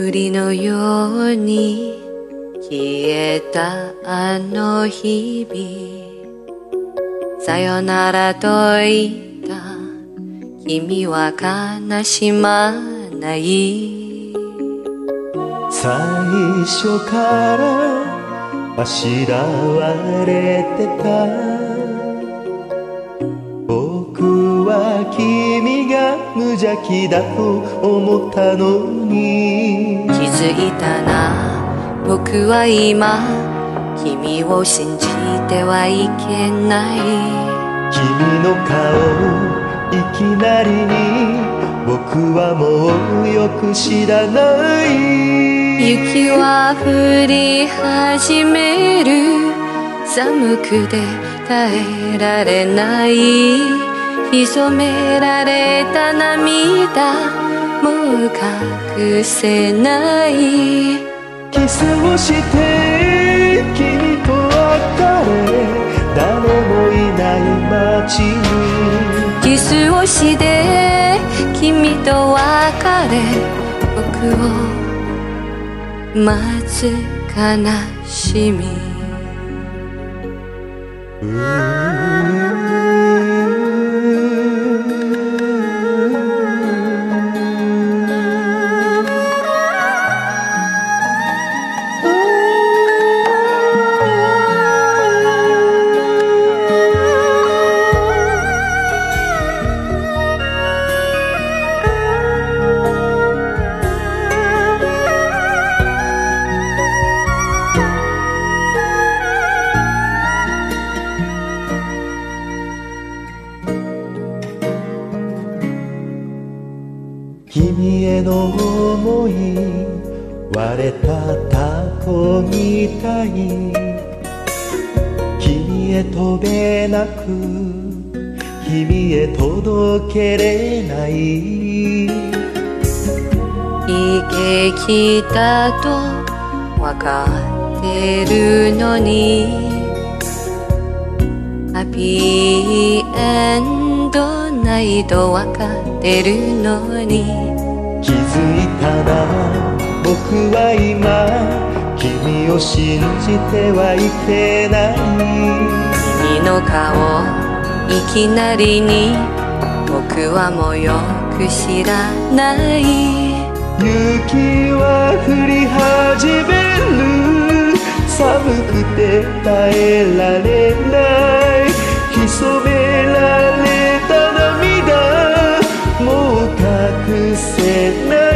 霧のように消えたあの日々、さよならと言った君は悲しまない。 最初からあしらわれてた、僕は君が無邪気だと思ったのに。 気づいたな、僕は今君を信じてはいけない。 君の顔いきなりに僕はもうよく知らない。 雪は降り始める、寒くて耐えられない。潜められた涙もう隠せない。 キスをして君と別れ、誰もいない街に。 キスをして君と別れ、僕を待つ悲しみ。 君への想い割れたタコみたい、君へ飛べなく君へ届けれない。 悲劇だとわかってるのに、ハッピーエンドないとわかってるのに。 気づいたな、僕は今君を信じてはいけない。 君の顔いきなりに僕はもうよく知らない。 雪は降り始める、寒くて耐えられない。潜められた涙もう隠せない。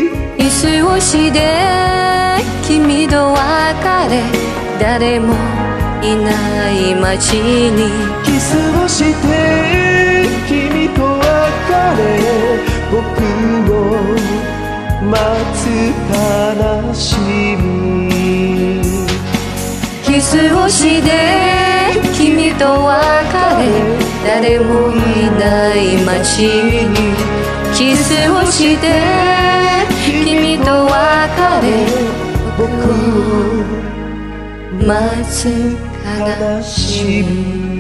キスをして君と別れ、誰もいない街に。 キスをして君と別れ、僕を待つ悲しみ。 キスをして君と別れ、誰もいない街に。キスをして君と別れ、僕を待つ悲しみ。